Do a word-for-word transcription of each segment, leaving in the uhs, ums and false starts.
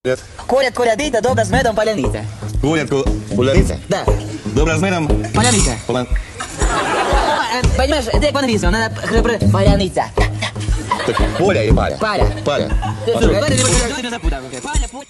Нет. Курят, курятица, добра с медом паляница. Курят, ку... Кулярица? Да. Добра с медом? Паляница. Полан... Понимаешь, это по-английски, надо хребры. Паляница. Так, Поля и Паря. Паря. Паря. Ты А слушай, что? это не будет, ты меня запутал. Паря, пу-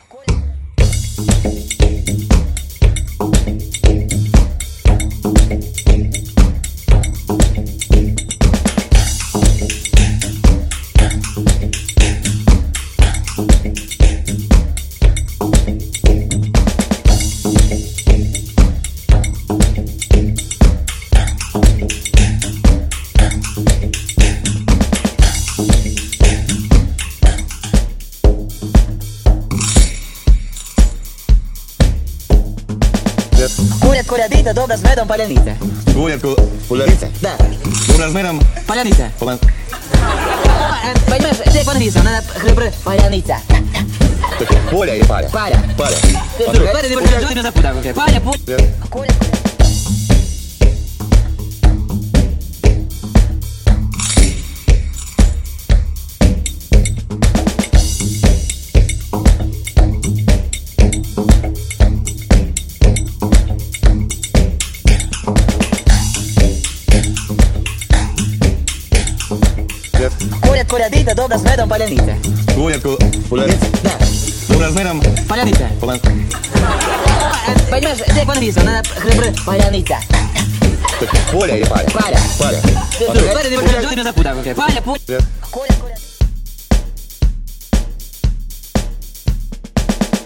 Нет. Курят, курятица, добра с медом паляница. Курят, ку... Кулярица? Да. Добра с медом? Паляница. Полан... Понимаешь, это по-английски, надо хребры. Паляница. Так, Поля и Паря. Паря. Паря. Ты А слушай, что? это не будет, ты меня запутал. Паря, пу- Нет. Курят, курят. Нет. Курят, курятица, добра с медом паляница. Курят, ку... Кулярица? Да. Добра с медом? Паляница. Полан... Понимаешь, это по-английски, надо хребры. Паляница. Так, Поля и Паря. Паря. Паря. Ты А слушай, что? это не будет, ты меня запутал. Паря, пу- Нет. Курят.